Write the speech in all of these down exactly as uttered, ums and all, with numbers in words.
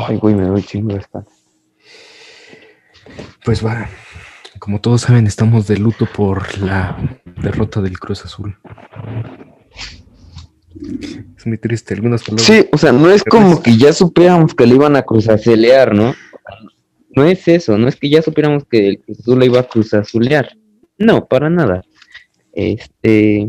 Ay, güey, me doy chingo de espalda. Pues va, como todos saben, estamos de luto por la derrota del Cruz Azul. Es muy triste, algunas palabras. Sí, o sea, no es como que ya supiéramos que le iban a cruzazulear, ¿no? No es eso, no es que ya supiéramos que el Cruz Azul le iba a cruzazulear. No, para nada. Este...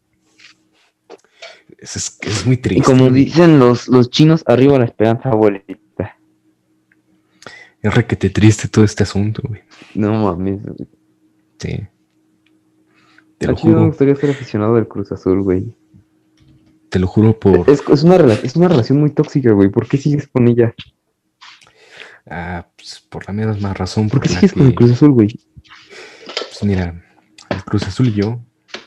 Es, es, es muy triste. Y como dicen los, los chinos, arriba la esperanza, abuelita. Es requete triste todo este asunto, güey. No mames. Sí. Te A lo Chino juro. me gustaría ser aficionado del Cruz Azul, güey. Te lo juro por... Es, es, una, es una relación muy tóxica, güey. ¿Por qué sigues con ella? Ah, pues por la misma razón. ¿Por qué por sigues que, con el Cruz Azul, güey? Pues mira, el Cruz Azul y yo,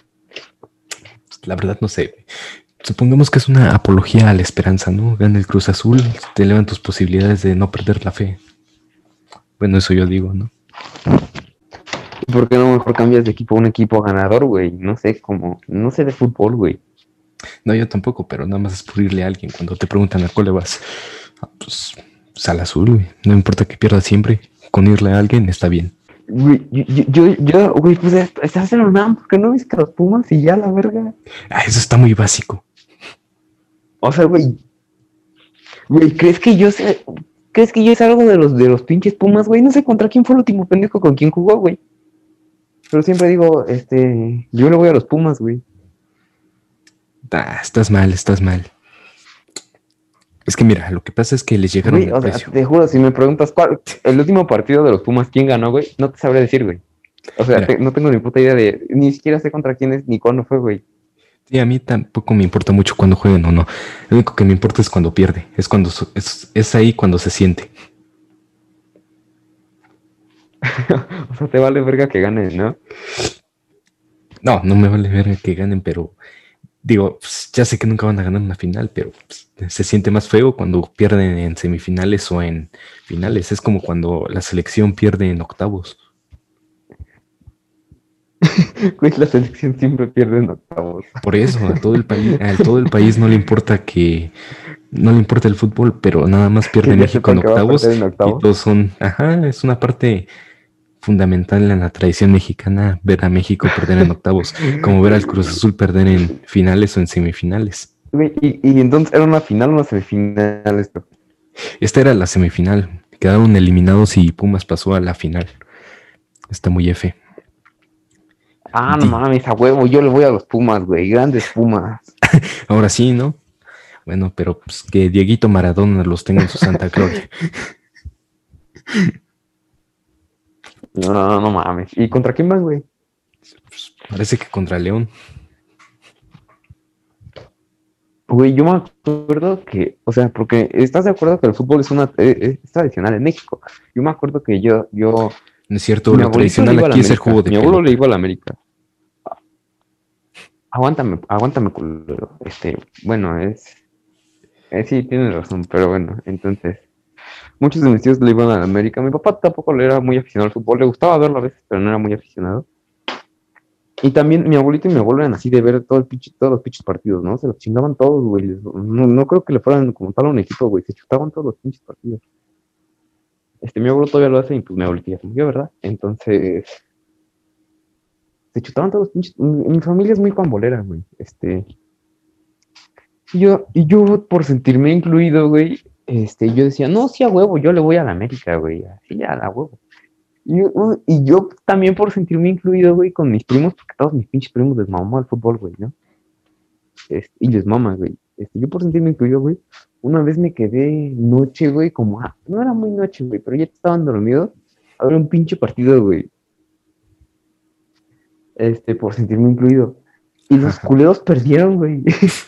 la verdad no sé. Supongamos que es una apología a la esperanza, ¿no? Gana el Cruz Azul, te elevan tus posibilidades de no perder la fe. Bueno, eso yo digo, ¿no? ¿Por qué no mejor cambias de equipo a un equipo ganador, güey? No sé, como... No sé de fútbol, güey. No, yo tampoco, pero nada más es por irle a alguien. Cuando te preguntan a cuál le vas, ah, pues, pues al azul, güey. No importa que pierdas siempre. Con irle a alguien está bien. Güey, yo, yo, yo, güey, pues estás en UNAM, ¿por qué no viste a los Pumas y ya la verga? Ah, eso está muy básico. O sea, güey. Güey, ¿crees que yo sé? ¿Crees que yo es algo de los de los pinches Pumas, güey? No sé contra quién fue el último pendejo con quién jugó, güey. Pero siempre digo, este, yo le voy a los Pumas, güey. Ah, estás mal, estás mal. Es que mira, lo que pasa es que les llegaron Güey, al o sea, precio. te juro, si me preguntas cuál, el último partido de los Pumas, ¿quién ganó, güey? No te sabré decir, güey. O sea, te, no tengo ni puta idea de, ni siquiera sé contra quién es ni cuándo fue, güey. Sí, a mí tampoco me importa mucho cuando jueguen o no. Lo único que me importa es cuando pierde. Es cuando es, es ahí cuando se siente. O sea, te vale verga que ganen, ¿no? No, no me vale verga que ganen, pero digo, pues, ya sé que nunca van a ganar una final, pero pues, se siente más feo cuando pierden en semifinales o en finales. Es como cuando la selección pierde en octavos. Güey, la selección siempre pierde en octavos. Por eso, a todo el país, a todo el país no le importa que no le importa el fútbol, pero nada más pierde México en octavos, en octavos y todos son, ajá, es una parte fundamental en la tradición mexicana ver a México perder en octavos, como ver al Cruz Azul perder en finales o en semifinales. Güey, y, y entonces era una final o una semifinal esto. Esta era la semifinal, quedaron eliminados y Pumas pasó a la final. Está muy F. Ah, no mames, a huevo, yo le voy a los Pumas, güey, grandes Pumas. Ahora sí, ¿no? Bueno, pero pues que Dieguito Maradona los tenga en su santa gloria. No, no, no, no mames. ¿Y contra quién vas, güey? Pues, parece que contra León. Güey, yo me acuerdo que, o sea, porque estás de acuerdo que el fútbol es una es, es tradicional en México. Yo me acuerdo que yo, yo. No es cierto, lo tradicional aquí es el juego de Mi pelota. abuelo le iba a la América. Aguántame, aguántame, culero. Este, bueno, es. Eh, sí, tienes razón, pero bueno, entonces. Muchos de mis tíos le iban a la América. Mi papá tampoco le era muy aficionado al fútbol. Le gustaba verlo a veces, pero no era muy aficionado. Y también mi abuelito y mi abuelo eran así de ver todo el pinche, todos los pinches partidos, ¿no? Se los chingaban todos, güey. No, no creo que le fueran como tal a un equipo, güey. Se chutaban todos los pinches partidos. Este, mi abuelo todavía lo hace y pues mi abuelita ya se murió, ¿verdad? Entonces, se chutaban todos los pinches. Mi, mi familia es muy pambolera, güey. Este, y yo, y yo por sentirme incluido, güey, este, yo decía, no, sí a huevo, yo le voy a la América, güey. Así a la huevo. Y, y yo también por sentirme incluido, güey, con mis primos, porque todos mis pinches primos les mamó al fútbol, güey, ¿no? Este, y les mama, güey. Este, yo por sentirme incluido, güey, una vez me quedé noche, güey, como, ah, no era muy noche, güey, pero ya estaban dormidos, a ver un pinche partido, güey. Este, por sentirme incluido. Y los culeros perdieron, güey.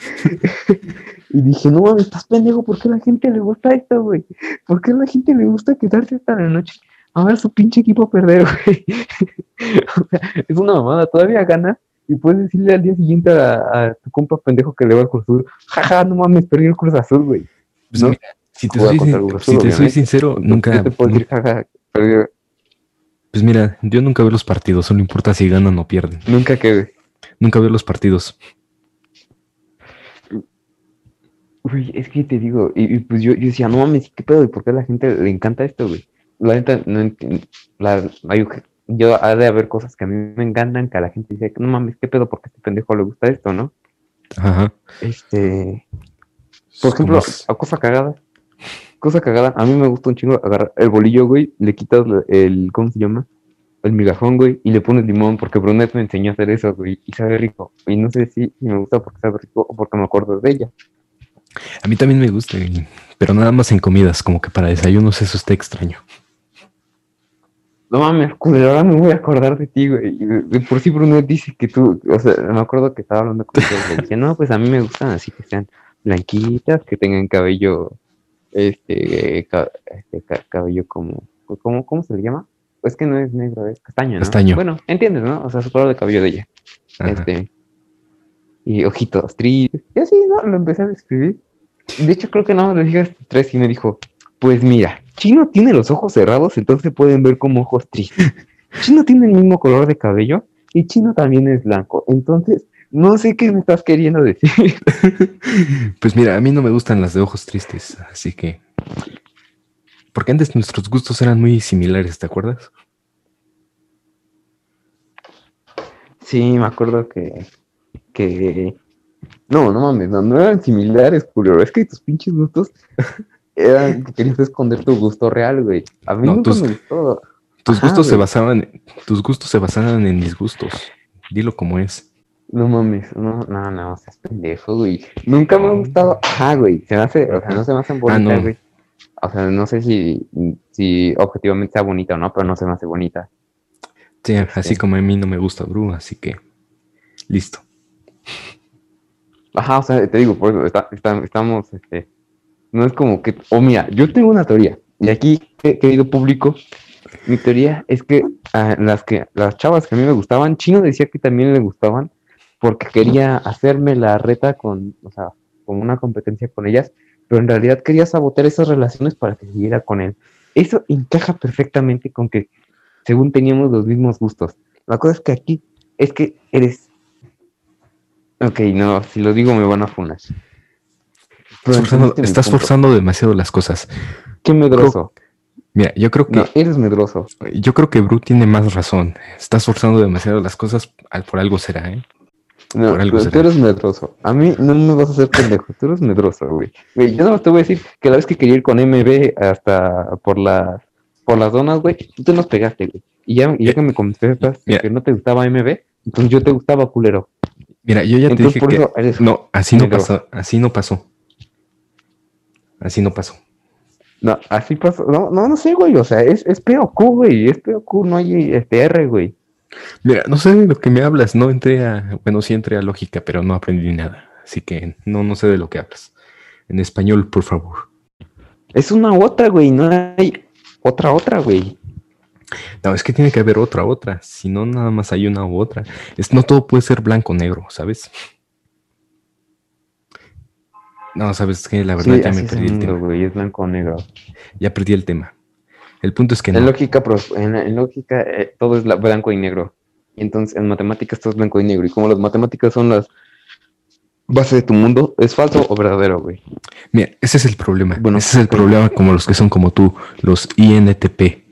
Y dije, no mames, estás pendejo, ¿por qué a la gente le gusta esto, güey? ¿Por qué a la gente le gusta quedarse hasta la noche a ver su pinche equipo perder, güey? O sea, es una mamada, todavía gana y puedes decirle al día siguiente a, a tu compa pendejo que le va al Cruz Azul, jaja, no mames, perdí el Cruz Azul, güey. Pues ¿no? mira, si te, soy, sin, Azul, si te soy sincero, entonces, nunca... Yo te puedo decir, jaja, perdí. Pues mira, yo nunca veo los partidos, solo importa si ganan o pierden. Nunca que... Nunca veo los partidos. Uy, es que te digo, y, y pues yo, yo decía, no mames, ¿qué pedo? ¿Y por qué a la gente le encanta esto, güey? La neta, no entiendo. La, hay- yo, ha de haber cosas que a mí me encantan, que a la gente dice, no mames, ¿qué pedo? ¿Por qué a este pendejo le gusta esto, no? Ajá. Este, por Es como ejemplo, es. a cosa cagada, cosa cagada, a mí me gusta un chingo agarrar el bolillo, güey, le quitas el, ¿cómo se llama? El migajón, güey, y le pones limón, porque Brunet me enseñó a hacer eso, güey, y sabe rico. Y no sé si, si me gusta porque sabe rico o porque me acuerdo de ella. A mí también me gusta, y- pero nada más en comidas, como que para desayunos eso está extraño. No mames, culero, ahora me voy a acordar de ti, güey. Y De, de por sí Brunet dice que tú, o sea, me acuerdo que estaba hablando con ella y le dije, no, pues a mí me gustan así que sean blanquitas, que tengan cabello, este, ca- este, ca- cabello como, ¿cómo, cómo se le llama? Pues que no es negro, es castaño, ¿no? Castaño. Bueno, entiendes, ¿no? O sea, su color de cabello de ella. Ajá. Este, y ojitos tristes. Y así, ¿no? Lo empecé a describir. De hecho, creo que no, le dije hasta tres y me dijo, pues mira, Chino tiene los ojos cerrados, entonces pueden ver como ojos tristes. Chino tiene el mismo color de cabello y Chino también es blanco. Entonces, no sé qué me estás queriendo decir. Pues mira, a mí no me gustan las de ojos tristes, así que... Porque antes nuestros gustos eran muy similares, ¿te acuerdas? Sí, me acuerdo que, que... No, no mames, no, no eran similares, culero. Es que tus pinches gustos eran que querías esconder tu gusto real, güey. A mí No, nunca tus, me gustó. tus Ajá, gustos se güey. basaban, tus gustos se basaban en mis gustos. Dilo como es. No mames, no, no, no, seas pendejo, güey. Nunca me ha No. gustado. Ajá, güey. Se me hace, o sea, no Ajá. se me hacen Ah, bonitas, no. güey. O sea, no sé si, si objetivamente sea bonita o no, pero no se me hace bonita. Sí, así Este. como a mí no me gusta Bru, así que listo. Ajá, o sea, te digo, por eso está- está- estamos, este. No es como que. O mira, yo tengo una teoría. Y aquí, que- querido público, mi teoría es que ah, las que las chavas que a mí me gustaban, Chino decía que también le gustaban porque quería hacerme la reta con, o sea, como una competencia con ellas, pero en realidad quería sabotear esas relaciones para que siguiera con él. Eso encaja perfectamente con que según teníamos los mismos gustos. La cosa es que aquí es que eres... Ok, no, si lo digo me van a funar. Estás Pero forzando, entendiste mi estás punto. forzando demasiado las cosas. Qué Yo creo, medroso. mira, yo creo No, que eres medroso. yo creo que Bru tiene más razón. Estás forzando demasiado las cosas, al- por algo será, ¿eh? No, Por algo tú, tú será. eres medroso. A mí no me vas a hacer pendejo. Tú eres medroso, güey. Güey, yo no te voy a decir que la vez que quería ir con M B hasta por las por las donas, güey, tú te nos pegaste, güey. Y ya, y ya Mira, que me confesaste mira, que no te gustaba M B, entonces yo te gustaba culero. mira, yo ya te Entonces dije por que eso eres no, así no medroso. pasó, así no pasó, así no pasó. No, así pasó. No, no, no sé, güey. O sea, es, es P O Q, güey. Es P O Q, no hay este R, güey. Mira, no sé de lo que me hablas, no entré a, bueno, sí entré a lógica, pero no aprendí nada, así que no, no sé de lo que hablas. En español, por favor. Es una otra, güey. No hay otra, otra, güey. No, es que tiene que haber otra, otra, si no nada más hay una u otra. Es, no todo puede ser blanco o negro, ¿sabes? No, sabes que la verdad Sí, ya me así es el perdí el mundo, tema, güey. Es blanco o negro. ya perdí el tema. El punto es que En no. lógica, pro- en, en lógica eh, todo es la- blanco y negro. Y entonces en matemáticas todo es blanco y negro. Y como las matemáticas son las bases de tu mundo, ¿es falso o verdadero, güey? Mira, ese es el problema, Bueno, ese es el pues, problema como los que son como tú, los I N T P.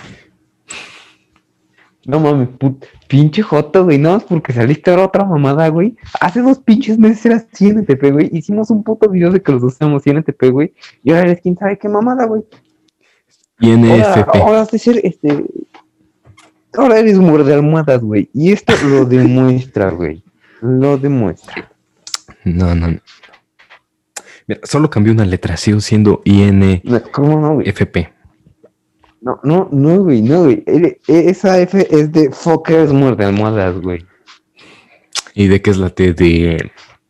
no mames, put, pinche joto, güey. No, es porque saliste ahora otra mamada, güey. Hace dos pinches meses eras I N T P, güey. Hicimos un puto video de que los dos somos I N T P, güey. Y ahora eres quién sabe qué mamada, güey. Ahora, I N F P. ahora has de ser, este... Ahora eres muerde almohadas, güey. Y esto lo demuestra, güey. Lo demuestra. No, no, no. Mira, solo cambió una letra, sigo siendo I N No, ¿cómo no, güey? F P. No, no, no, güey, no, güey. E- e- Esa F es de fuckers muerde almohadas, güey. ¿Y de qué es la T de,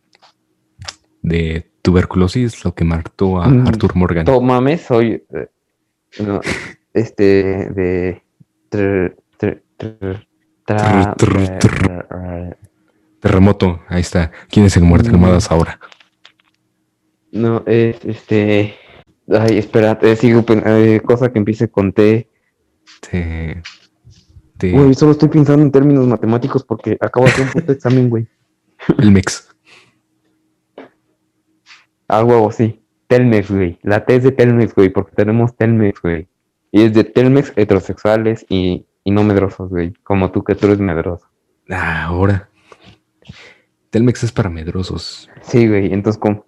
de tuberculosis? Lo que mató a Mm, Arthur Morgan. Tómame, soy. eh, no, este, de. tr- tr- tr- Trr, tra- trr, re- trr. re- re- Terremoto, ahí está. ¿Quién es el muerte mm, almohadas ahora? No, es este. Ay, espérate, sigo. pen- eh, cosa que empiece con T. Te, te, Güey, solo estoy pensando en términos matemáticos porque acabo de hacer un puto examen, güey. el mex. A huevo, sí. Telmex, güey. La T es de Telmex, güey, porque tenemos Telmex, güey. Y es de Telmex heterosexuales y, y no medrosos, güey. Como tú, que tú eres medroso. Ah, ahora. Telmex es para medrosos. Sí, güey. Entonces, ¿cómo?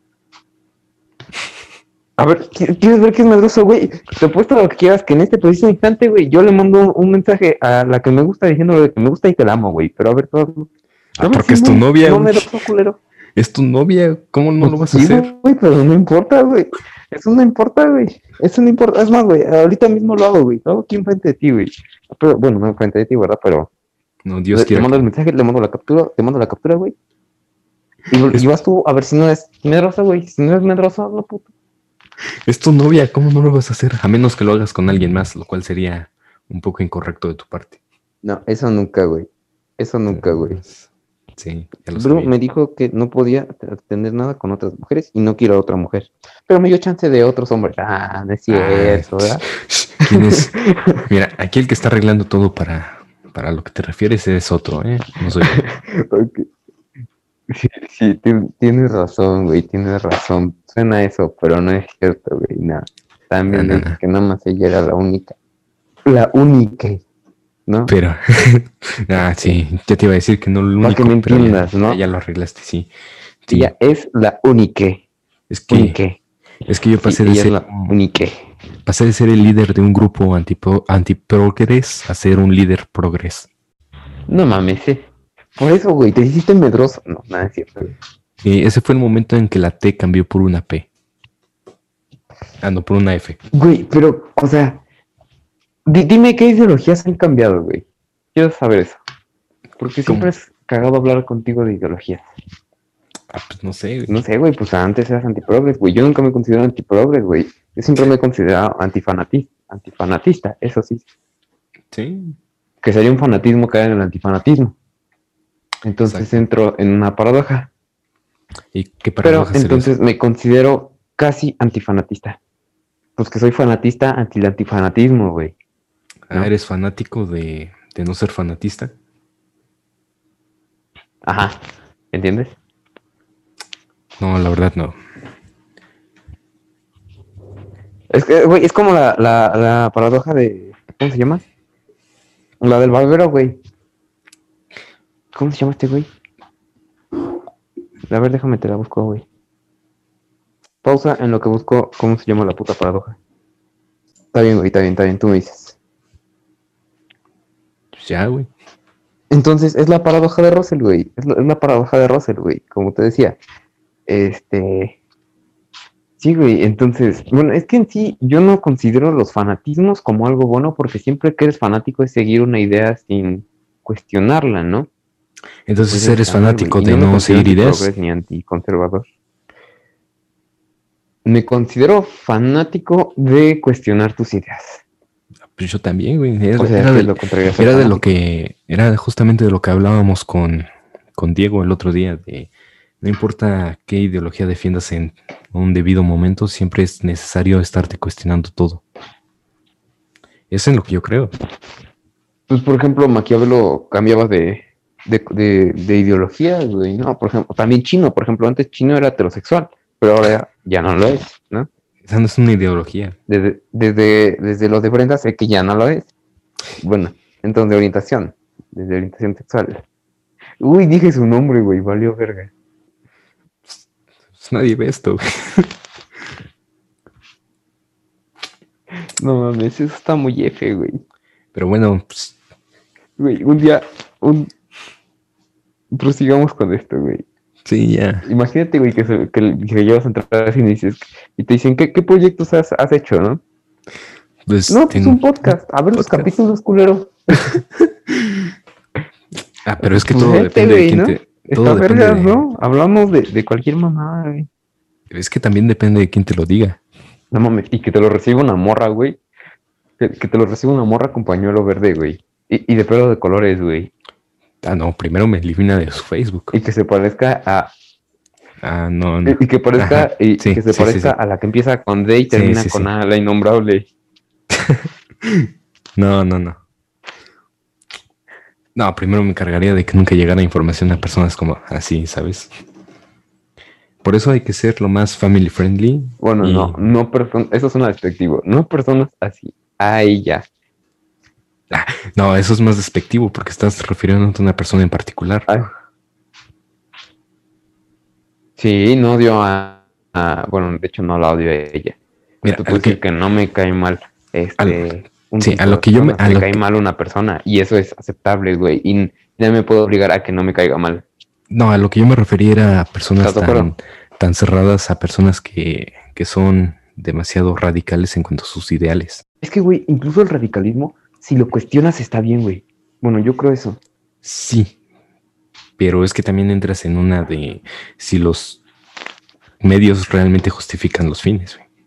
A ver, ¿qui- ¿quieres ver qué es medroso, güey? Te apuesto lo que quieras, que en este preciso instante, güey, yo le mando un mensaje a la que me gusta diciéndole que me gusta y que la amo, güey. Pero a ver, todo. Ah, A ver porque si es tu no, novia, no güey. medroso, culero. Es tu novia. ¿Cómo no Pues lo vas a sí, hacer? güey, pero no importa, güey. Eso no importa, güey. Eso no importa. Es más, güey, ahorita mismo lo hago, güey. Lo hago aquí enfrente de ti, güey. Pero, bueno, no enfrente de ti, ¿verdad? Pero No, Dios le, le quiera mando el que. mensaje, le mando la captura, te mando la captura, güey. Y, y Es, vas tú a ver si no es medrosa, güey. Si no es medrosa, no puto. es tu novia. ¿Cómo no lo vas a hacer? A menos que lo hagas con alguien más, lo cual sería un poco incorrecto de tu parte. No, eso nunca, güey. Eso nunca, güey. Pues, sí, ya lo Bru sabía. me dijo que no podía tener nada con otras mujeres y no quiero a otra mujer. Pero me dio chance de otros hombres. Ah, no es cierto, Ah, ¿verdad? ¿quién es? Mira, aquí el que está arreglando todo para, para lo que te refieres es otro, ¿eh? No soy yo. Ok. Sí, sí, ti- tienes razón, güey, tienes razón. Suena eso, pero no es cierto, güey, nada. No, También no, le dije no. que nada más ella era la única. La única, ¿no? Pero, ah, sí, ya te iba a decir que no lo Para que único, me pero ya, entiendas, ya, ¿no? ya lo arreglaste, sí. Sí, Ella es la única, es que, única. es que yo Sí, pasé de ella es ser, la única. pasé de ser el líder de un grupo antipro, antiprogres a ser un líder progres. No mames, eh. Por eso, güey, te hiciste medroso. No, nada es cierto, güey. Y ese fue el momento en que la T cambió por una P. Ah, no, por una F. Güey, pero, o sea, di- dime qué ideologías han cambiado, güey. Quiero saber eso. Porque siempre ¿Cómo? es cagado hablar contigo de ideologías. Ah, pues no sé, güey. No sé, güey, pues antes eras antiprogres, güey. Yo nunca me considero antiprogres, güey. Yo siempre me he considerado antifanatista, antifanatista, eso sí. Sí, Que sería un fanatismo caer en el antifanatismo. Entonces exacto. entro en una paradoja. ¿Y qué Pero paradoja sería eso? entonces me considero casi antifanatista. Pues que soy fanatista anti el antifanatismo, güey. Ah, ¿No? ¿eres fanático de, de no ser fanatista? Ajá, ¿entiendes? No, la verdad no. Es que, güey, es como la, la, la paradoja de... ¿Cómo se llama? La del barbero, güey. ¿Cómo se llama este güey? A ver, déjame te la busco, güey. Pausa en lo que busco cómo se llama la puta paradoja. Está bien, güey, está bien, está bien, tú me dices. Pues ya, güey. Entonces, es la paradoja de Russell, güey. Es la, es la paradoja de Russell, güey. Como te decía. Este... Sí, güey, entonces, bueno, es que en sí yo no considero los fanatismos como algo bueno porque siempre que eres fanático es seguir una idea sin cuestionarla, ¿no? Entonces Pues eres está mal, güey. fanático Y de no me no considero seguir ideas. antiprogres ni anticonservador. Me considero fanático de cuestionar tus ideas. Pues yo también, güey. Era, O sea, era que de, es lo contrario a ser era de lo fanático. que, era justamente de lo que hablábamos con, con Diego el otro día, de no importa qué ideología defiendas en un debido momento, siempre es necesario estarte cuestionando todo. Eso es lo que yo creo. Pues, por ejemplo, Maquiavelo cambiaba de, de, de, de ideología, güey, ¿no? Por ejemplo, también Chino, por ejemplo, antes Chino era heterosexual, pero ahora ya, ya no lo es, ¿no? Esa no es una ideología. Desde, desde, desde los de Brenda sé que ya no lo es. Bueno, entonces de orientación, desde orientación sexual. Uy, dije su nombre, güey, valió verga. Pues nadie ve esto, güey. No mames, eso está muy F, güey. Pero bueno, pues, Güey, un día, un... prosigamos con esto, güey. sí, ya. Imagínate, güey, que, se, que, que llevas a entrar así y dices, y te dicen, ¿qué, qué proyectos has, has hecho, no? Pues, No, pues ten- un podcast. A ver los podcast. capítulos, culero. Ah, pero es que Pues todo vete, depende de güey, quién ¿no? te... Está Todo depende vergas, de... ¿no? Hablamos de, de cualquier mamada, güey. Es que también depende de quién te lo diga. No mames, y que te lo reciba una morra, güey. Que, que te lo reciba una morra con pañuelo verde, güey. Y, y de pelo de colores, güey. Ah, no, primero me elimina de su Facebook. Y que se parezca a... Ah, no, no. Y, y que parezca... Ajá, Y, sí, y que se sí, sí, parezca sí. a la que empieza con D y Sí, termina sí, con sí. A, la innombrable. No, no, no. No, primero me encargaría de que nunca llegara información a personas como así, ¿sabes? por eso hay que ser lo más family friendly. Bueno, y... no, no personas, eso suena despectivo, no personas así, ay, ya. Ah, no, eso es más despectivo porque estás refiriéndote a una persona en particular. Ay. Sí, no odio a, a, bueno, de hecho no la odio a ella. Mira, te puedo decir que... que no me cae mal, este, al, un sí, a lo que yo me, a me lo cae que... mal una persona y eso es aceptable, güey, y ya me puedo obligar a que no me caiga mal. No, a lo que yo me refería era a personas tan, tan cerradas, a personas que, que son demasiado radicales en cuanto a sus ideales. Es que, güey, incluso el radicalismo, si lo cuestionas, está bien, güey. Bueno, yo creo eso. Sí, pero es que también entras en una de si los medios realmente justifican los fines, güey.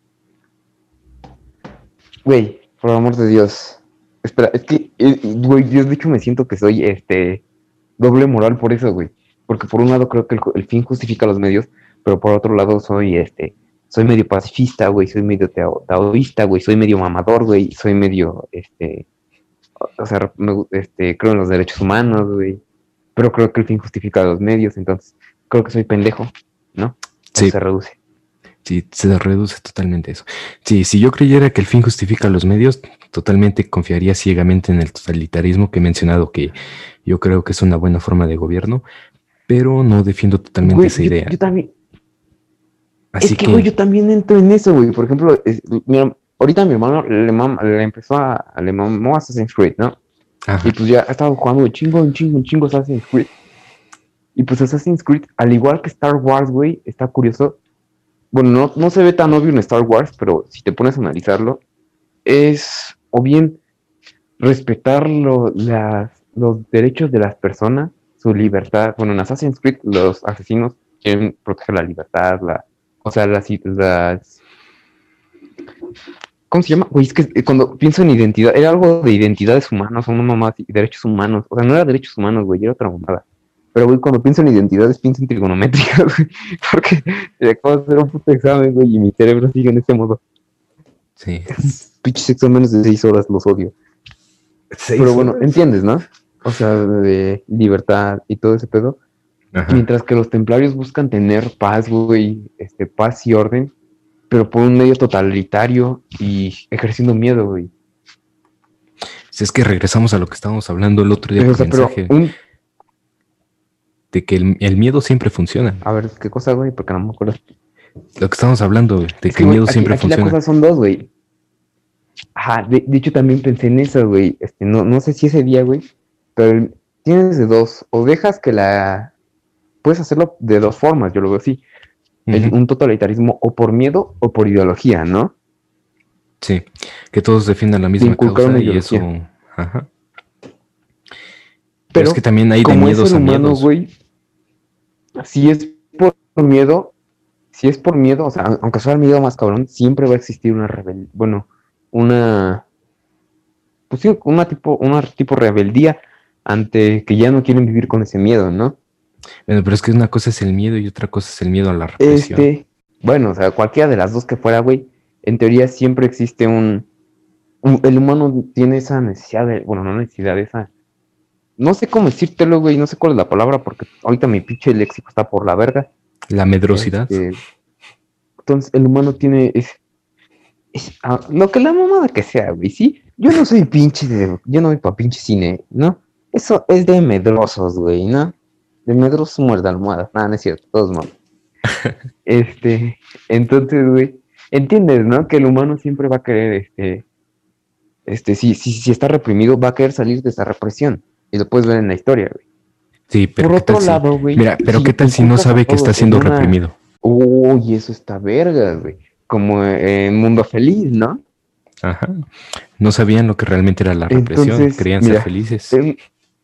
Güey, por amor de Dios. Espera, es que, güey, yo de hecho me siento que soy, este... doble moral por eso, güey. Porque por un lado creo que el, el fin justifica los medios, pero por otro lado soy este, soy medio pacifista, güey, soy medio tao, taoísta, güey, soy medio mamador, güey, soy medio, este, o sea, me, este, creo en los derechos humanos, güey, pero creo que el fin justifica los medios, entonces creo que soy pendejo, ¿no? Sí. Se reduce. Sí, se reduce totalmente eso. Sí, si yo creyera que el fin justifica los medios, totalmente confiaría ciegamente en el totalitarismo que he mencionado, que yo creo que es una buena forma de gobierno, pero no defiendo totalmente güey, esa yo, idea. Yo también. Así es que, güey, que... yo también entro en eso, güey. Por ejemplo, es, mira, ahorita mi hermano le, mam, le empezó a, le mamó Assassin's Creed, ¿no? Ajá. Y pues ya ha estado jugando un chingo, un chingo, un chingo Assassin's Creed. Y pues Assassin's Creed, al igual que Star Wars, güey, está curioso. Bueno, no, no se ve tan obvio en Star Wars, pero si te pones a analizarlo, es o bien respetar lo, las, los derechos de las personas, su libertad. Bueno, en Assassin's Creed los asesinos quieren proteger la libertad, la, o sea, las, las... ¿Cómo se llama? Güey, es que cuando pienso en identidad, era algo de identidades humanas, o no mamá, derechos humanos. O sea, no era derechos humanos, güey, era otra mamada. Pero, güey, cuando pienso en identidades, pienso en trigonométricas, güey. Porque acabo de hacer un puto examen, güey, y mi cerebro sigue en ese modo. Sí. Pinches exámenes de seis horas, los odio. Pero bueno, horas? Entiendes, ¿no? O sea, de libertad y todo ese pedo. Ajá. Mientras que los templarios buscan tener paz, güey, este, paz y orden, pero por un medio totalitario y ejerciendo miedo, güey. Si es que regresamos a lo que estábamos hablando el otro día. Pero, o sea, mensaje, pero un... de que el, el miedo siempre funciona. A ver, ¿qué cosa, güey? Porque no me acuerdo. Lo que estamos hablando, de que, es que el miedo aquí, siempre aquí funciona. Las cosas son dos, güey. Ajá, de, de hecho también pensé en eso, güey. Este, no, no sé si ese día, güey, pero el, tienes de dos. O dejas que la... Puedes hacerlo de dos formas, yo lo veo así. Uh-huh. El, un totalitarismo o por miedo o por ideología, ¿no? Sí, que todos defiendan la misma causa y eso... Ajá. Pero, Pero es que también hay de miedos a miedos. Güey, si es por miedo, si es por miedo, o sea, aunque sea el miedo más cabrón, siempre va a existir una rebelión, bueno, una, pues sí, una tipo, una tipo rebeldía ante que ya no quieren vivir con ese miedo, ¿no? Bueno, pero es que una cosa es el miedo y otra cosa es el miedo a la represión. Este, bueno, o sea, cualquiera de las dos que fuera, güey, en teoría siempre existe un, un, el humano tiene esa necesidad de, bueno, no necesidad, esa, no sé cómo decírtelo, güey, no sé cuál es la palabra, porque ahorita mi pinche léxico está por la verga. La medrosidad. Este, entonces, el humano tiene, es, es ah, lo que la mamada que sea, güey, ¿sí? Yo no soy pinche de, yo no voy pa' pinche cine, ¿no? Eso es de medrosos, güey, ¿no? De medrosos muerde almohadas. Nada, no es cierto, todos mames. este, entonces, güey, entiendes, ¿no? Que el humano siempre va a querer, este, este, si, si, si está reprimido, va a querer salir de esa represión. Y lo puedes ver en la historia, güey. Sí, pero por ¿qué otro tal lado, si... güey. Mira, pero si ¿qué tal si no sabe que está siendo una... reprimido? Uy, eso está verga, güey. Como en Mundo Feliz, ¿no? Ajá. No sabían lo que realmente era la represión. Entonces, querían mira, ser felices. Eh,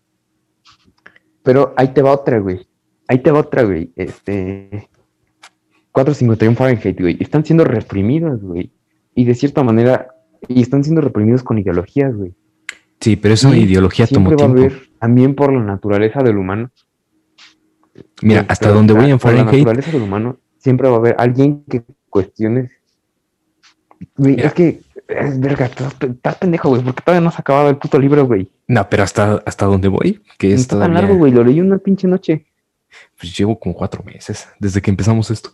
pero ahí te va otra, güey. Ahí te va otra, güey. Este... cuatrocientos cincuenta y uno Fahrenheit, güey. Están siendo reprimidos, güey. Y de cierta manera... Y están siendo reprimidos con ideologías, güey. Sí, pero esa y ideología tomó tiempo. Siempre va a haber, también por la naturaleza del humano. Mira, hasta pero, donde voy en Fahrenheit... Por la naturaleza del humano, siempre va a haber alguien que cuestione... Güey, es que... Es verga, estás, estás pendejo, güey, porque todavía no has acabado el puto libro, güey. No, pero hasta, hasta donde voy, que no es está todavía... tan largo, güey, lo leí una pinche noche. Pues llevo como cuatro meses desde que empezamos esto.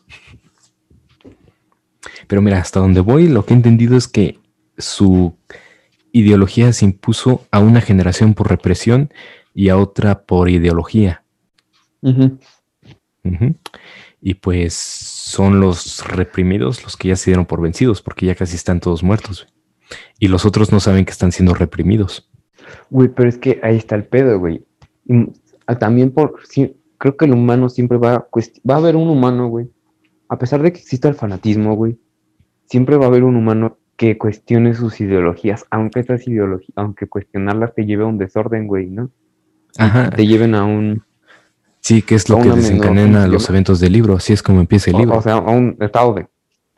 Pero mira, hasta donde voy, lo que he entendido es que su ideología se impuso a una generación por represión y a otra por ideología. Uh-huh. Uh-huh. Y pues son los reprimidos los que ya se dieron por vencidos, porque ya casi están todos muertos. Y los otros no saben que están siendo reprimidos. Güey, pero es que ahí está el pedo, güey. Y también por... Sí, creo que el humano siempre va a... Cuest- va a haber un humano, güey. A pesar de que exista el fanatismo, güey. Siempre va a haber un humano que cuestione sus ideologías. Aunque esas ideologías... Aunque cuestionarlas te lleve a un desorden, güey, ¿no? Ajá. Y te lleven a un... Sí, que es lo que desencadena los eventos del libro. Así es como empieza el libro. O, o sea, a un estado de...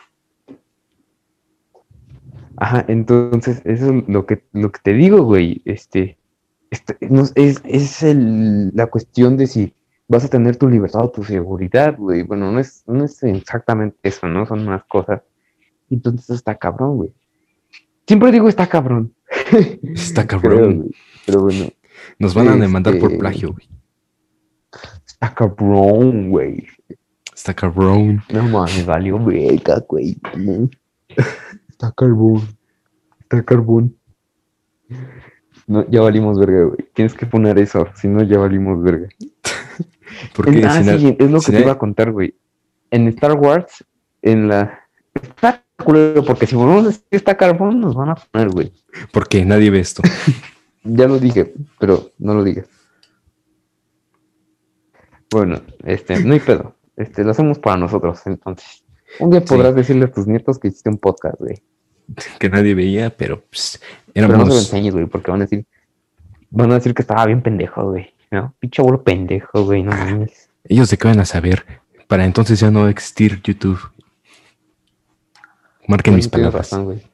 Ajá, entonces, eso es lo que, lo que te digo, güey. Este, este no, es, es el, la cuestión de si vas a tener tu libertad o tu seguridad, güey. Bueno, no es, no es exactamente eso, ¿no? Son más cosas. Entonces está cabrón, güey. Siempre digo está cabrón. Está cabrón. Pero, pero bueno. Nos van a demandar este... por plagio, güey. Está cabrón, güey. Está cabrón. No mames, valió verga, güey. Está carbón. Está carbón. No, ya valimos verga, güey. Tienes que poner eso, si no ya valimos verga. Porque ah, sí, hay, es lo que te hay... iba a contar, güey. En Star Wars, en la... Está culero, porque si volvemos a decir está carbón, nos van a poner, güey. Porque nadie ve esto. Ya lo dije, pero no lo digas. Bueno, este, no hay pedo. Este, lo hacemos para nosotros, entonces. Un día podrás sí. decirle a tus nietos que hiciste un podcast, güey. Que nadie veía, pero pues, éramos... Pero no se lo enseñes, güey, porque van a decir... Van a decir que estaba bien pendejo, güey, ¿no? Pinche abuelo pendejo, güey, no mames. Ah, ellos de qué van a saber. Para entonces ya no va a existir YouTube. Marquen no, mis palabras. Razón, güey.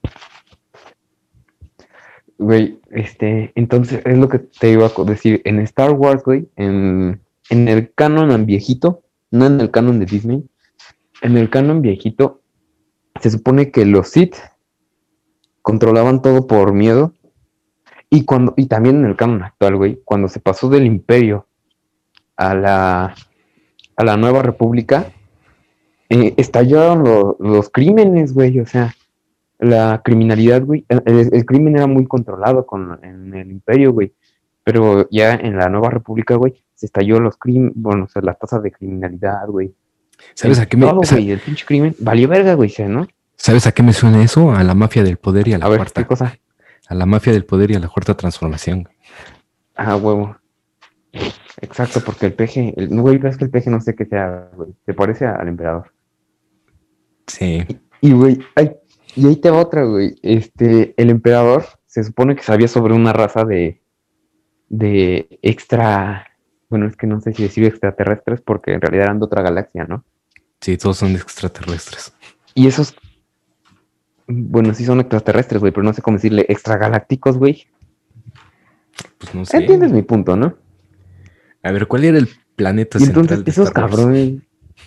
Güey, este... Entonces, es lo que te iba a decir. En Star Wars, güey, en, en el canon viejito, no en el canon de Disney, en el canon viejito, se supone que los Sith controlaban todo por miedo. Y cuando y también en el canon actual, güey, cuando se pasó del Imperio a la, a la Nueva República, eh, estallaron lo, los crímenes, güey. O sea, la criminalidad, güey. El, el, el crimen era muy controlado con, en el Imperio, güey. Pero ya en la Nueva República, güey, se estalló los crímenes, bueno, o sea, las tasas de criminalidad, güey. ¿Sabes el, a qué me todo, güey, el pinche crimen valió verga, güey, ¿no? ¿Sabes a qué me suena eso? A la mafia del poder y a la a ver, cuarta. ¿qué cosa? A la mafia del poder y a la cuarta transformación. Ah, huevo. Exacto, porque el peje, el, güey, ves que el peje no sé qué sea, güey. Se parece al emperador. Sí. Y, güey, ay, y ahí te va otra, güey. Este, el emperador se supone que sabía sobre una raza de, de extra, bueno, es que no sé si decir extraterrestres, porque en realidad eran de otra galaxia, ¿no? Sí, todos son extraterrestres. Y esos, bueno, sí son extraterrestres, güey, pero no sé cómo decirle extragalácticos, güey. Pues no sé. Entiendes mi punto, ¿no? A ver, ¿cuál era el planeta y central entonces, de esos Star Wars? cabrones.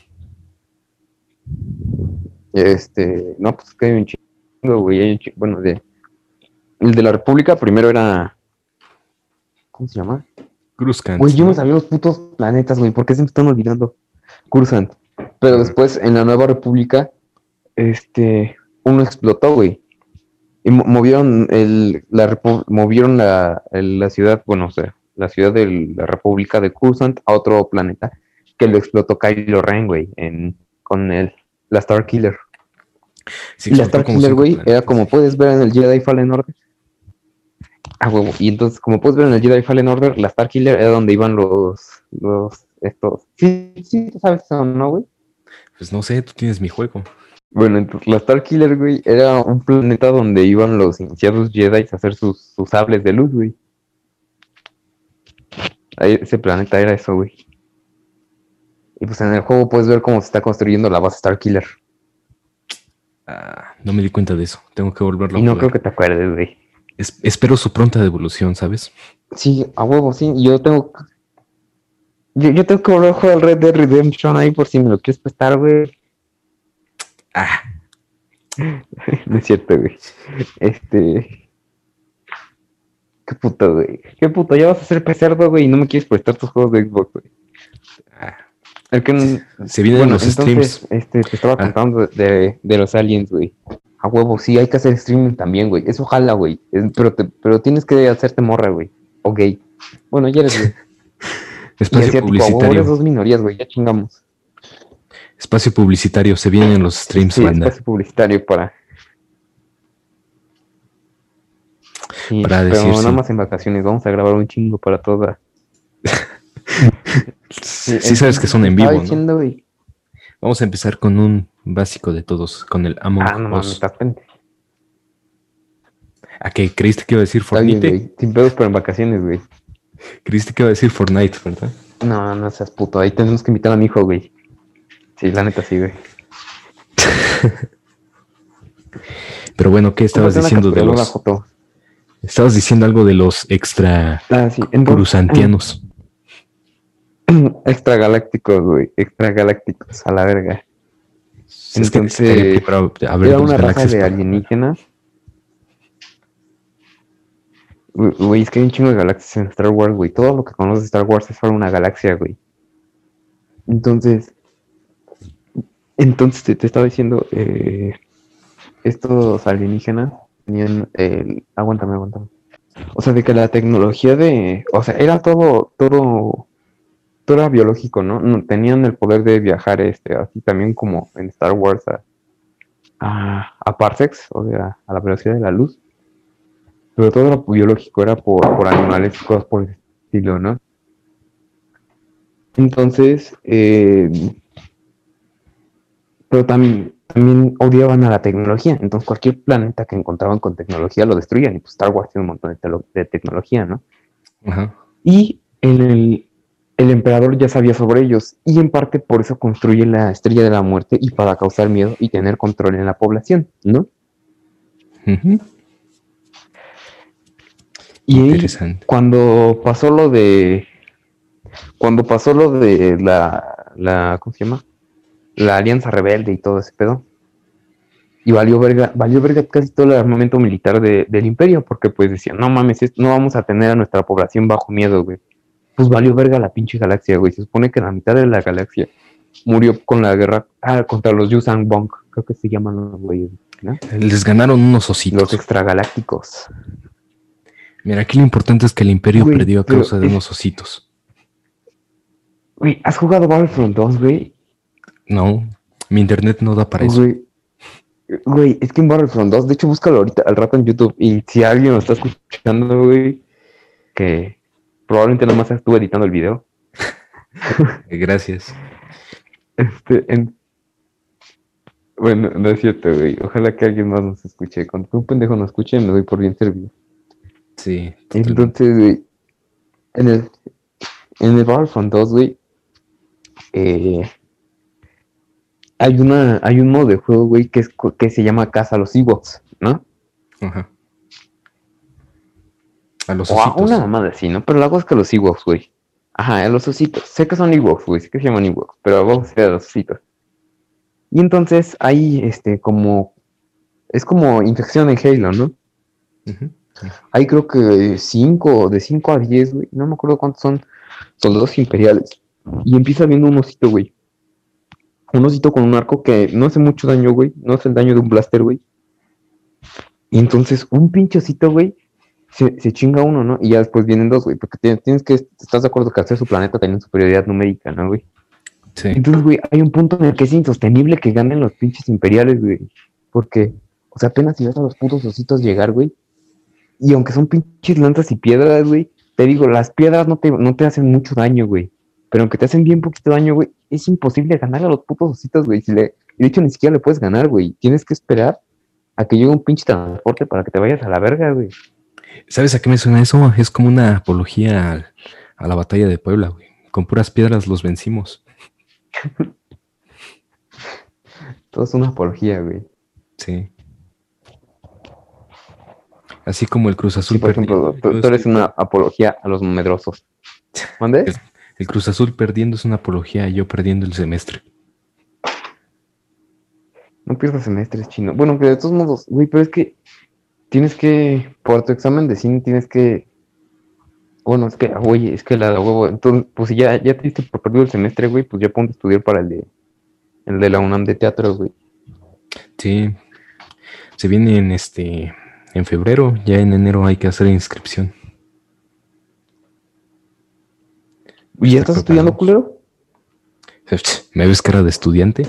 Este, no, pues que hay un chingo, güey. Hay un chingo, bueno, de. El de la República primero era. ¿Cómo se llama? Coruscant. Güey, yo ¿no? me sabía los putos planetas, güey. ¿Por qué se me están olvidando? Coruscant. Pero después, en la Nueva República, este. Uno explotó, güey. Y mo- movieron el, la repu- movieron la, el- la ciudad, bueno, o sea, la ciudad de la República de Coruscant a otro planeta que lo explotó Kylo Ren, güey, en, con el, la Star Killer. Sí, Y la explotó Star como Killer, cinco güey, planetas. era como puedes ver en el Jedi Fallen Order. Ah, huevo. Y entonces, como puedes ver en el Jedi Fallen Order, la Star Killer era donde iban los, los, estos. Sí, sí, tú sabes eso, ¿no, güey? Pues no sé, tú tienes mi juego. Bueno, entonces la Star Killer, güey, era un planeta donde iban los iniciados Jedi a hacer sus, sus sables de luz, güey. Ahí, ese planeta era eso, güey. Y pues en el juego puedes ver cómo se está construyendo la base Star Killer. Ah, no me di cuenta de eso. Tengo que volverlo Y a no jugar. creo que te acuerdes, güey. Es- espero su pronta devolución, ¿sabes? Sí, a huevo, sí. Yo tengo... Yo, yo tengo que volver a jugar al Red Dead Redemption ahí por si me lo quieres prestar, güey. Ah, No es cierto, güey. Este... Qué puto, güey. Qué puto, ya vas a ser pecerdo, güey, y no me quieres prestar tus juegos de Xbox, güey. Ah, El que, se vienen bueno, los entonces, streams. este, te estaba Ah, contando de, de los aliens, güey. A huevo, sí, hay que hacer streaming también, güey. Eso jala, güey. Es- Pero, te- pero tienes que hacerte morra, güey. O gay. Bueno, ya eres gay. Y espacio asiático, a huevo, eres publicitario. dos minorías, güey. Ya chingamos. Espacio publicitario. Se vienen los Sí, streams, sí, banda. espacio publicitario para... Sí, Para decir pero nada sí. más en vacaciones. Vamos a grabar un chingo para toda. Sí, Sí sabes que entonces son te en estaba vivo, ¿no? diciendo, güey. Vamos a empezar con un básico de todos, con el Among Ah, no mames, Us. estás pendejo. ¿A qué creíste que iba a decir Está bien, Fortnite? güey. Sin pedos, pero en vacaciones, güey. Creíste que iba a decir Fortnite, ¿verdad? No, no seas puto. Ahí tenemos que invitar a mi hijo, güey. Sí, la neta sí, güey. Pero bueno, ¿qué estabas Cómprate una diciendo de captura, no la los... foto. Estabas diciendo algo de los extra Ah, sí. Entonces, crusantianos. extragalácticos, güey. Extragalácticos, a la verga. Es que necesitaría Entonces, primero a ver era dos una raza galaxias de para... alienígenas. Güey, güey, es que hay un chingo de galaxias en Star Wars, güey. Todo lo que conoces de Star Wars es solo una galaxia, güey. Entonces, entonces te, te estaba diciendo, eh, estos alienígenas tenían el... Aguántame, aguántame. O sea, de que la tecnología de... O sea, era todo, todo, todo era biológico, ¿no? No, tenían el poder de viajar, este, así también como en Star Wars a, a, a parsecs, o sea, a la velocidad de la luz. Pero todo era biológico, era por, por animales y cosas por el estilo, ¿no? Entonces, eh, pero también, también odiaban a la tecnología. Entonces, cualquier planeta que encontraban con tecnología lo destruían. Y pues Star Wars tiene un montón de, telo- de tecnología, ¿no? Ajá. Y en el, el emperador ya sabía sobre ellos. Y en parte por eso construye la estrella de la muerte y para causar miedo y tener control en la población, ¿no? Ujú. Y ahí, Interesante. cuando pasó lo de. Cuando pasó lo de la. la ¿Cómo se llama? La Alianza Rebelde y todo ese pedo. Y valió verga, valió verga casi todo el armamento militar de, del imperio, porque pues decían, no mames, esto, no vamos a tener a nuestra población bajo miedo, güey. Pues valió verga la pinche galaxia, güey. Se supone que la mitad de la galaxia murió con la guerra ah, contra los Yuuzhan Vong, creo que se llaman los güeyes, ¿no? Les ganaron unos Los ositos. extragalácticos. Mira, aquí lo importante es que el imperio Güey, perdió a pero causa de es- unos ositos. Güey, ¿has jugado Battlefront dos, güey? No, mi internet no da para eso. Güey, güey, es que en Battlefront dos, de hecho, búscalo ahorita al rato en YouTube. Y si alguien lo está escuchando, güey, que probablemente nomás estuve editando el video. Eh, Gracias. Este, en... Bueno, no es cierto, güey. Ojalá que alguien más nos escuche. Cuando un pendejo nos escuche, me doy por bien servido. Sí, totalmente. Entonces, güey, en el, en el Battlefront dos, güey, eh, hay una, hay un modo de juego, güey, que, es, que se llama Caza a los Ewoks, ¿no? Ajá. A los O a ositos. una mamada así, ¿no? Pero la cosa es que los Ewoks, güey. Ajá, a los ositos. Sé que son Ewoks, güey, sé que se llaman Ewoks, pero vamos a ser a los ositos. Y entonces hay, este, como, es como infección en Halo, ¿no? Ujú. Hay creo que cinco, de cinco a diez, güey, no me acuerdo cuántos son soldados imperiales. Y empieza viendo un osito, güey. Un osito con un arco que no hace mucho daño, güey. No hace el daño de un blaster, güey. Y entonces un pinche osito, güey, se, se chinga uno, ¿no? Y ya después vienen dos, güey. Porque tienes, tienes que, estás de acuerdo que hacer su planeta tiene superioridad numérica, ¿no, güey? Sí. Entonces, güey, hay un punto en el que es insostenible que ganen los pinches imperiales, güey. Porque, o sea, apenas si ves a los putos ositos llegar, güey. Y aunque son pinches lanzas y piedras, güey, te digo, las piedras no te, no te hacen mucho daño, güey. Pero aunque te hacen bien poquito daño, güey, es imposible ganar a los putos ositos, güey. Si le, y de hecho, ni siquiera le puedes ganar, güey. Tienes que esperar a que llegue un pinche transporte para que te vayas a la verga, güey. ¿Sabes a qué me suena eso? Es como una apología al- a la batalla de Puebla, güey. Con puras piedras los vencimos. Todo es una apología, güey. Sí. Así como el Cruz Azul Sí, por ejemplo, perdiendo. tú, yo tú eres estoy- una apología a los medrosos. ¿Mande? El, el Cruz Azul perdiendo es una apología a yo perdiendo el semestre. No pierdas semestres, chino. Bueno, que de todos modos, güey, pero es que tienes que, por tu examen de cine, tienes que Bueno, es que, güey, es que la de huevo. Entonces, pues si ya, ya te diste por perdido el semestre, güey, pues ya ponte a estudiar para el de, el de la UNAM de teatro, güey. Sí, se viene en este, en febrero, ya en enero hay que hacer inscripción. ¿Y ya Estar estás estudiando, preparados. culero? ¿Me ves cara de estudiante?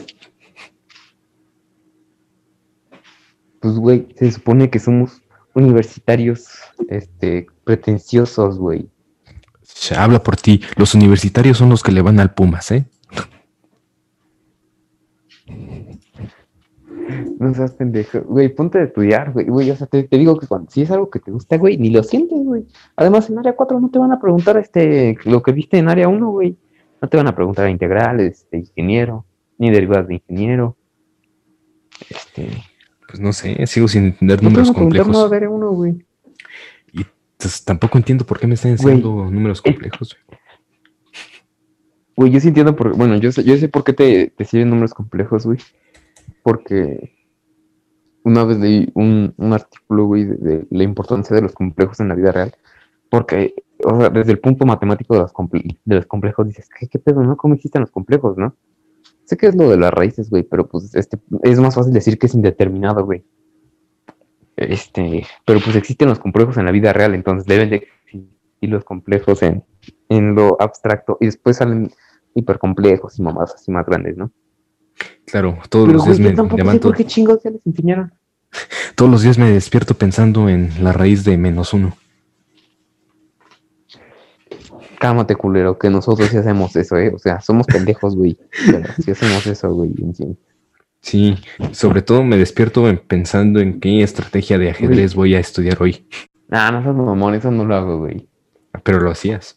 Pues, güey, se supone que somos universitarios, este, pretenciosos, güey. Habla por ti. Los universitarios son los que le van al Pumas, ¿eh? No seas pendejo. Güey, ponte a estudiar, güey. Güey, o sea, te, te digo que cuando, si es algo que te gusta, güey, ni lo sientes, güey. Además, en área cuatro no te van a preguntar este, lo que viste en área uno, güey. No te van a preguntar integrales, de ingeniero, ni derivadas de ingeniero. Este, Pues no sé, sigo sin entender no te van números a preguntar nada complejos. de área uno, güey. Y pues, tampoco entiendo por qué me están enseñando Güey, números eh, complejos. güey, yo sí entiendo por, bueno, yo sé, yo sé por qué te, te sirven números complejos, güey. Porque una vez leí un, un artículo, güey, de, de la importancia de los complejos en la vida real. Porque, o sea, desde el punto matemático de los, comple de los complejos, dices, ¿qué, ¿qué pedo, no? ¿Cómo existen los complejos, no? Sé que es lo de las raíces, güey, pero pues este, es más fácil decir que es indeterminado, güey. Este, pero pues existen los complejos en la vida real, entonces deben de existir los complejos en, en lo abstracto y después salen hipercomplejos y mamadas así más grandes, ¿no? Claro, todos Pero, los días güey, yo me tampoco sé por levanto, qué chingados ya les enseñaron. todos los días me despierto pensando en la raíz de menos uno. Cálmate, culero, que nosotros sí hacemos eso, ¿eh? O sea, somos pendejos, güey, pero sí hacemos eso, güey, en sí. Sí, sobre todo me despierto en- pensando en qué estrategia de ajedrez Güey, voy a estudiar hoy. nah, no seas mamón, eso no lo hago, güey. Pero lo hacías.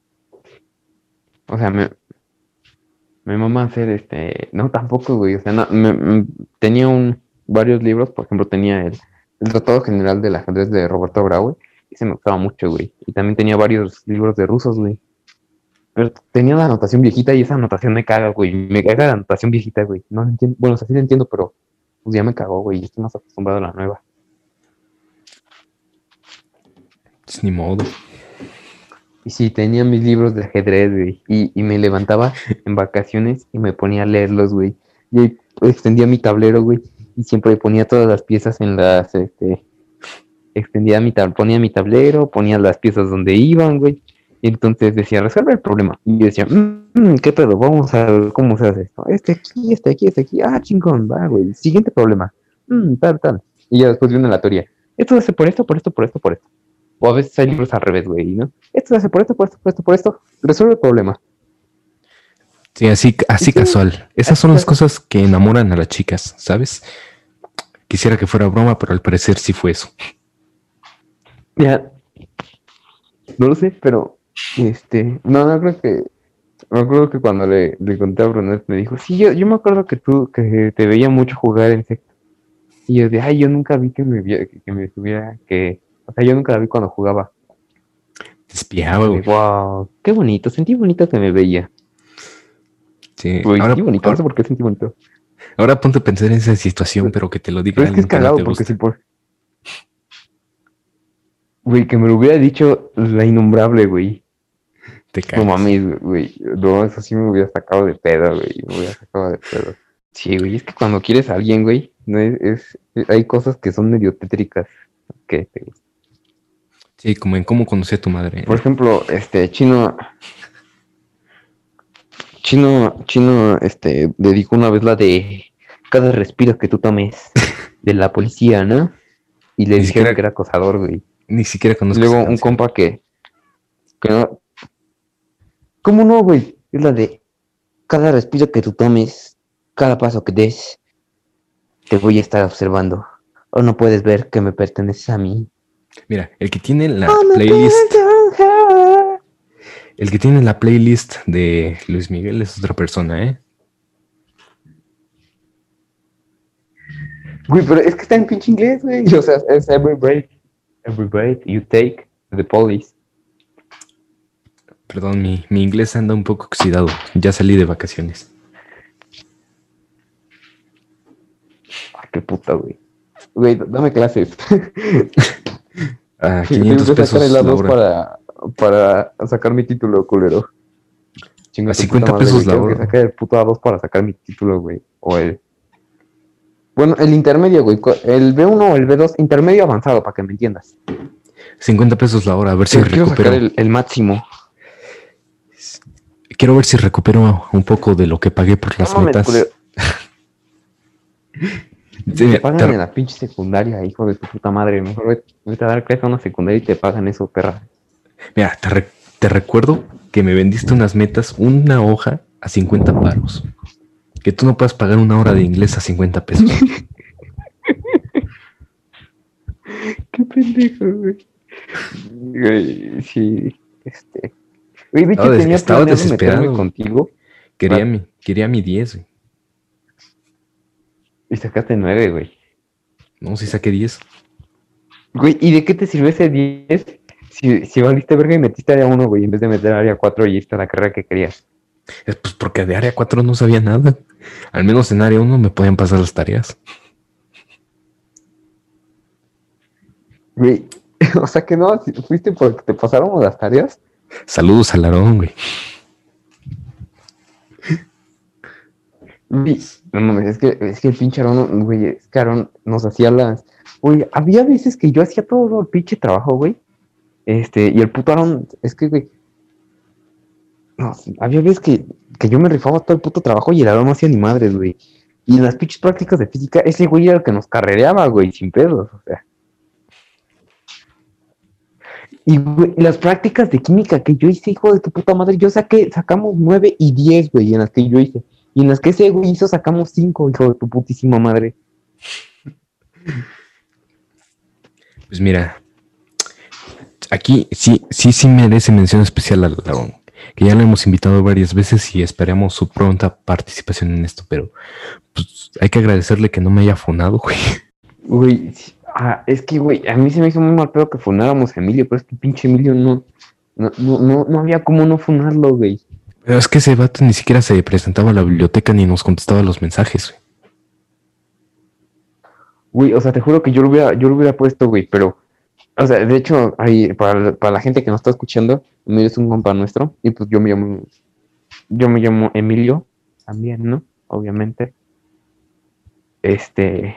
O sea, me, me mama hacer este. No, tampoco, güey. O sea, no, me- me- tenía un, varios libros. Por ejemplo, tenía el, el Tratado General del Ajedrez de Roberto Graue. Y se me gustaba mucho, güey. Y también tenía varios libros de rusos, güey. Pero tenía la anotación viejita y esa anotación me caga, güey. Me caga la anotación viejita, güey. No la entiendo. Bueno, o sea, sí la entiendo, pero pues ya me cagó, güey. Estoy más acostumbrado a la nueva. Pues ni modo. Y sí, tenía mis libros de ajedrez, güey. Y, y me levantaba en vacaciones y me ponía a leerlos, güey. Y ahí extendía mi tablero, güey. Y siempre ponía todas las piezas en las, este, extendía mi tablero, ponía mi tablero, ponía las piezas donde iban, güey. Y entonces decía, resuelve el problema. Y yo decía, mmm, ¿qué pedo? Vamos a ver cómo se hace esto. Este aquí, este aquí, este aquí. Ah, chingón, va, güey. Siguiente problema. Mmm, tal, tal. Y ya después viene la teoría. Esto se hace por esto, por esto, por esto, por esto. O a veces hay libros al revés, güey, ¿no? Esto se hace por esto, por esto, por esto, por esto. Resuelve el problema. Sí, así, Y así sí, casual. Esas así son las que, cosas que enamoran a las chicas, ¿sabes? Quisiera que fuera broma, pero al parecer sí fue eso. ya, no lo sé, pero, este, no, no creo que, me acuerdo que cuando le, le conté a Brunet me dijo, sí, yo, yo me acuerdo que tú, que te veía mucho jugar en sexto. Y yo de, ay, yo nunca vi que me, via- que, que me estuviera, que, o sea, yo nunca la vi cuando jugaba. Te espiaba, Y de, güey. wow, qué bonito, sentí bonito que me veía. Sí. Güey, Ahora, sentí bonito, no sé ahora, por qué sentí bonito. ahora ponte a pensar en esa situación, pero que te lo diga Pero es que es alguien que no cagado te porque si gusta. por, güey, que me lo hubiera dicho la innombrable, güey. Te No cagas. mames, güey. No, eso sí me hubiera sacado de pedo, güey. Me hubiera sacado de pedo. Sí, güey, es que cuando quieres a alguien, güey, no es, es- hay cosas que son medio tétricas que te gustan. Sí, como en cómo conocí a tu madre, Por ¿eh? ejemplo, este, Chino, Chino, Chino, este, dedicó una vez la de cada respiro que tú tomes de la policía, ¿no? Y le Ni dijeron siquiera, que era acosador, güey. ni siquiera Y conozco esa luego un canción. compa que, que no, ¿cómo no, güey? Es la de cada respiro que tú tomes, cada paso que des, te voy a estar observando. O no puedes ver que me perteneces a mí. Mira, el que tiene la I'm a playlist, better. el que tiene la playlist de Luis Miguel es otra persona, ¿eh? Güey, pero es que está en pinche inglés, güey. O sea, es every breath, every breath you take, the police. Perdón, mi, mi inglés anda un poco oxidado. Ya salí de vacaciones. Ay, qué puta, güey. Güey, dame clases. A Tengo quinientos que sacar el pesos la A dos hora. para, para sacar mi título, culero. Chinga A tu cincuenta puta madre, pesos güey. la Tengo que hora. sacar el puto A dos para sacar mi título, güey. O el... Bueno, el intermedio, güey. co- El B uno o el B dos, intermedio avanzado, para que me entiendas. cincuenta pesos la hora, a ver si Pero quiero sacar recupero. el, el máximo. Quiero ver si recupero un poco de lo que pagué por No las mames, metas. culero. Sí, Te mira, pagan te- en la pinche secundaria, hijo de tu puta madre. Mejor vete vete a dar clase a una secundaria y te pagan eso, perra. mira, te re- te recuerdo que me vendiste unas metas, una hoja a cincuenta paros. Que tú no puedas pagar una hora de inglés a cincuenta pesos. Qué pendejo, güey. Güey, sí, este. Güey, de Estaba, hecho des- tenía estaba planeado meterme desesperado. contigo Quería para- mi, quería mi diez, güey. y sacaste nueve, güey. No, si saqué diez. Güey, ¿y de qué te sirve ese diez si, si valiste verga y metiste área uno, güey, en vez de meter área cuatro y esta la carrera que querías? Es pues porque de área cuatro no sabía nada. Al menos en área uno me podían pasar las tareas. Güey, o sea que no, si fuiste porque te pasaron las tareas. Saludos al Aarón, güey. Güey, no mames, es que, es que el pinche Aarón, güey, es que Aarón nos hacía las... Güey, había veces que yo hacía todo el pinche trabajo, güey. Este, y el puto Aarón, es que, güey, no, había veces que, que yo me rifaba todo el puto trabajo y el Aarón no hacía ni madres, güey. Y en las pinches prácticas de física, ese güey era el que nos carrereaba, güey, sin pedos, o sea. Y, güey, las prácticas de química que yo hice, hijo de tu puta madre, yo saqué, sacamos nueve y diez, güey, en las que yo hice. Y en las que ese güey hizo, sacamos cinco, hijo de tu putísima madre. Pues mira, aquí sí, sí, sí merece mención especial al Aarón, que ya lo hemos invitado varias veces y esperamos su pronta participación en esto, pero pues hay que agradecerle que no me haya fonado, güey. Güey, sí, ah, es que, güey, a mí se me hizo muy mal pedo que funáramos a Emilio, pero es que pinche Emilio no, no, no, no, no había cómo no funarlo, güey. Pero es que ese vato ni siquiera se presentaba a la biblioteca ni nos contestaba los mensajes, güey. Güey, o sea, te juro que yo lo hubiera, yo lo hubiera puesto, güey, pero, o sea, de hecho, ahí, para, para la gente que nos está escuchando, Emilio es un compa nuestro, y pues yo me llamo, yo me llamo Emilio, también, ¿no? Obviamente. Este,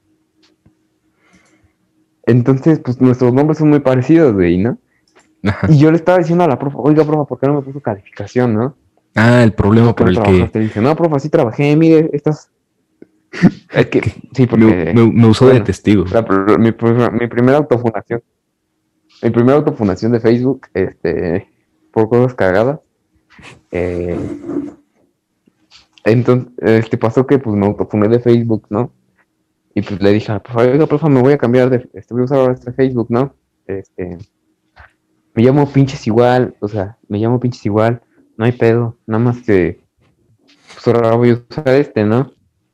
entonces, pues nuestros nombres son muy parecidos, güey, ¿no? Ajá. Y yo le estaba diciendo a la profa, oiga, profa, ¿por qué no me puso calificación, no? Ah, el problema ¿Por qué por no el que trabajaste? Dice, no, profa, sí trabajé, mire, estas... Es que, sí, porque... me, me- me usó bueno, de testigo. la pr- mi, pr- mi primera autofundación, mi primera autofundación de Facebook, este, por cosas cagadas, eh, entonces, este, pasó que, pues, me autofuné de Facebook, ¿no? Y pues le dije, profa, oiga, profa, me voy a cambiar de, este, voy a usar ahora este Facebook, ¿no? Este, me llamo pinches igual, o sea, me llamo pinches igual, no hay pedo, nada más que, pues ahora voy a usar este, ¿no?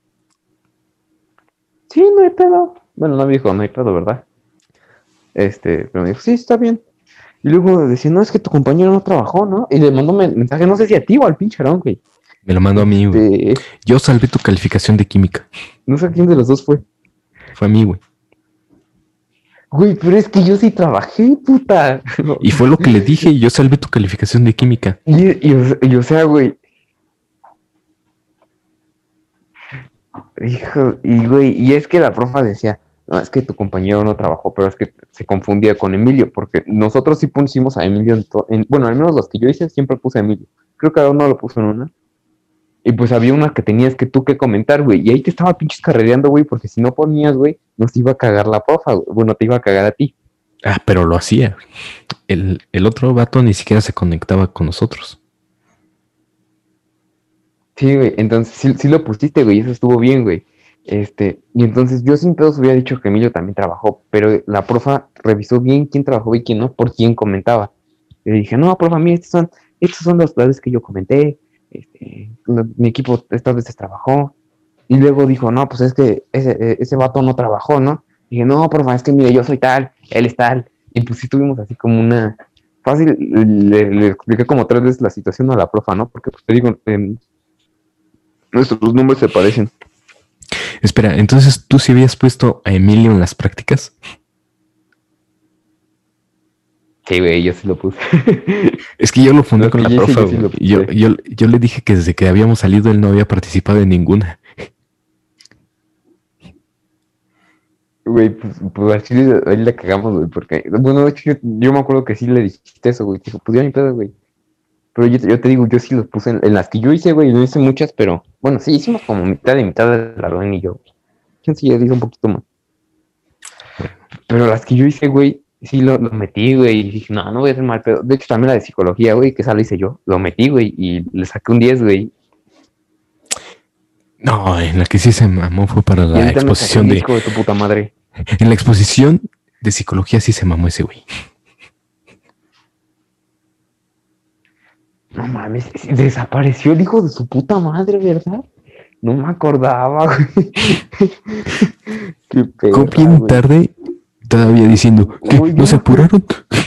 Sí, no hay pedo. Bueno, no me dijo, no hay pedo, ¿verdad? Este, pero me dijo, sí, está bien. Y luego decía, no, es que tu compañero no trabajó, ¿no? Y le mandó un mensaje, no sé si a ti o al pinche Aarón, güey. Me lo mandó a mí, güey. Este, Yo salvé tu calificación de química. no sé quién de los dos fue. Fue a mí, güey. Güey, pero es que yo sí trabajé, puta. Y fue lo que le dije, yo salvé tu calificación de química. Y, y, o- y, o sea, güey. Hijo, y güey, y es que la profa decía, no, es que tu compañero no trabajó, pero es que se confundía con Emilio, porque nosotros sí pusimos a Emilio en, to- en- bueno, al menos los que yo hice siempre puse a Emilio. Creo que cada uno lo puso en una. Y pues había una que tenías que tú que comentar, güey, y ahí te estaba pinches carrereando, güey, porque si no ponías, güey, nos iba a cagar la profa, güey. Bueno, te iba a cagar a ti. Ah, pero lo hacía. El, el otro vato ni siquiera se conectaba con nosotros. Sí, güey, entonces sí, sí lo pusiste, güey, eso estuvo bien, güey. Este, y entonces yo sin pedos hubiera dicho que Emilio también trabajó, pero la profa revisó bien quién trabajó y quién no, por quién comentaba. Y le dije, no, profa, mira, estos son, estos son los planes que yo comenté, este, no, mi equipo estas veces trabajó. Y luego dijo, no, pues es que ese, eh, ese vato no trabajó, ¿no? Y dije, no, profa, es que mire, yo soy tal, él es tal. Y pues sí tuvimos así como una... Fácil, le, le expliqué como tres veces la situación a la profa, ¿no? Porque pues te digo, eh, nuestros nombres se parecen. Espera, entonces tú sí habías puesto a Emilio en las prácticas. Sí, güey, yo sí lo puse. Es que yo lo fundé No, con que la yo sí, profa, yo sí lo güey. Yo, puse. yo, yo le dije que desde que habíamos salido él no había participado en ninguna. Güey, pues, pues así le- ahí le cagamos, güey, porque, bueno, de hecho, yo, yo me acuerdo que sí le dijiste eso, güey. Dijo, pues ya ni pedo, güey. Pero yo, yo te digo, yo sí los puse en, en las que yo hice, güey, no hice muchas, pero, bueno, sí, hicimos como mitad y mitad de la Rubén y yo. Quién sí, ya hice un poquito más. Bueno, Pero las que yo hice, güey, sí lo, lo metí, güey, y dije, no, no voy a hacer mal pedo. De hecho, también la de psicología, güey, que esa la hice yo, lo metí, güey, y le saqué un diez, güey. no, en la que sí se mamó fue para Y la ahorita me saqué exposición un diez, de... hijo de tu puta madre. En la exposición de psicología sí se mamó ese güey. No mames, desapareció el hijo de su puta madre, ¿verdad? No me acordaba, güey. Qué Llegó perra, bien güey. tarde, todavía diciendo, ¿qué? Güey, yo ¿No se me acuerdo, apuraron?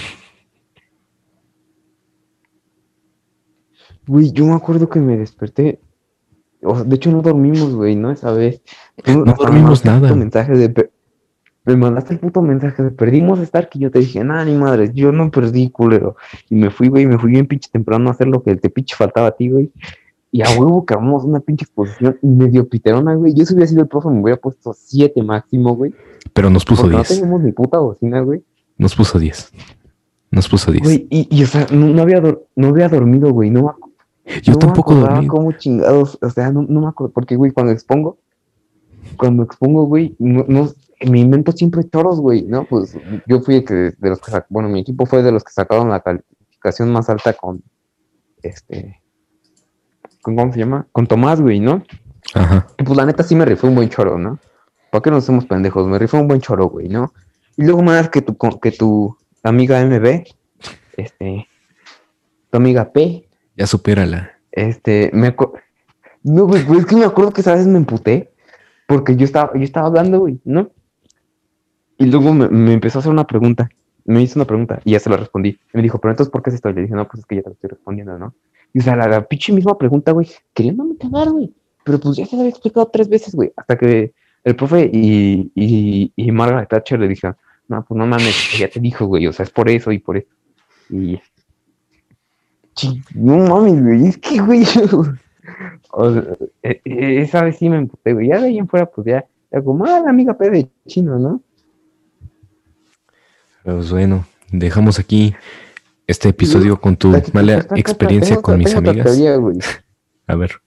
güey, yo me acuerdo que me desperté. O sea, de hecho, no dormimos, güey, ¿no? Esa vez. Tú No hasta me dormimos mandaste el puto nada. mensaje de. pe- Me mandaste el puto mensaje de perdimos Stark y yo te dije, nada, ni madre, yo no perdí, culero. Y me fui, güey, me fui bien pinche temprano a hacer lo que te pinche faltaba a ti, güey. Y a huevo que armamos una pinche exposición y medio piterona, güey. Yo si hubiera sido el profe, me hubiera puesto siete máximo, güey. Pero nos puso Porque no diez. teníamos ni puta bocina, güey. Nos puso diez. Nos puso diez. Güey, y, y o sea, no, no había, dor- no había dormido, güey. No, me ac- Yo no me tampoco acordaba dormí. cómo chingados. O sea, no, no me acuerdo. Porque, güey, cuando expongo, cuando expongo, güey, no, no, me invento siempre choros, güey, ¿no? Pues yo fui el que, de los que, sac- bueno, mi equipo fue de los que sacaron la calificación más alta con, este, con, ¿cómo se llama? Con Tomás, güey, ¿no? Ajá. Y pues la neta sí me rifé un buen choro, ¿no? ¿Para qué nos hacemos pendejos? Me rifé un buen choro, güey, ¿no? Y luego más que tu, que tu amiga M B, este, tu amiga P, Ya supérala. este, me acuerdo, no, güey, güey, es que me acuerdo que esa vez me emputé, porque yo estaba, yo estaba hablando, güey, ¿no? Y luego me, me empezó a hacer una pregunta, me hizo una pregunta, y ya se la respondí. Y me dijo, pero entonces, ¿por qué es esto? Y le dije, no, pues es que ya te lo estoy respondiendo, ¿no? Y o sea, la, la pinche misma pregunta, güey, queriéndome cagar, güey. Pero pues ya se la había explicado tres veces, güey, hasta que el profe y, y, y Margaret Thatcher le dijeron, no, pues no mames, ya te dijo, güey, o sea, es por eso y por eso. Y, chi, no mames, güey, es que, güey, o sea, e- e- esa vez sí me emputé, güey, ya de ahí en fuera, pues ya, ya como, ah, la amiga P de chino, ¿no? Pues bueno, dejamos aquí este episodio con tu Aquí, mala está acá, experiencia tengo con otra- mis tengo otra amigas. teoría, güey. A ver.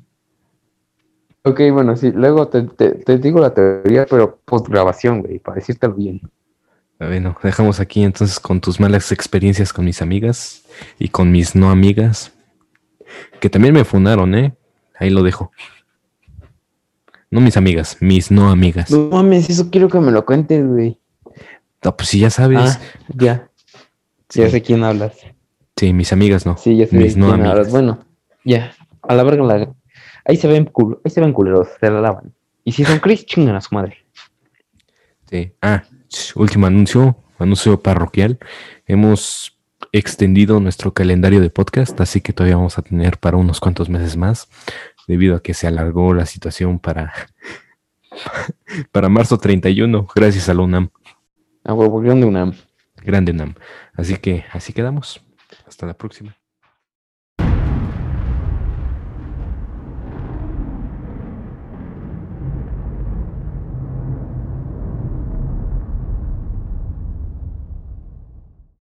Ok, bueno, sí, luego te, te, te digo la teoría, pero post grabación, güey, para decírtelo bien. Bueno, dejamos aquí entonces con tus malas experiencias con mis amigas y con mis no amigas, que también me fundaron, ¿eh? Ahí lo dejo. No mis amigas, mis no amigas. No mames, eso quiero que me lo cuentes, güey. No, pues si ya sabes. Ah, ya, Sí, ya sé quién hablas. sí, mis amigas no. Sí, ya sé Mis de no quién hablas. amigas. Bueno, ya, a la verga, la... ahí se ven cul... ahí se ven culeros, se la lavan. Y si son Chris, chingan a su madre. Sí. Ah, ch, último anuncio, anuncio parroquial. Hemos extendido nuestro calendario de podcast, así que todavía vamos a tener para unos cuantos meses más, debido a que se alargó la situación para, para marzo treinta y uno, gracias a la UNAM, A huevo, de una. grande UNAM. Así que así quedamos. Hasta la próxima.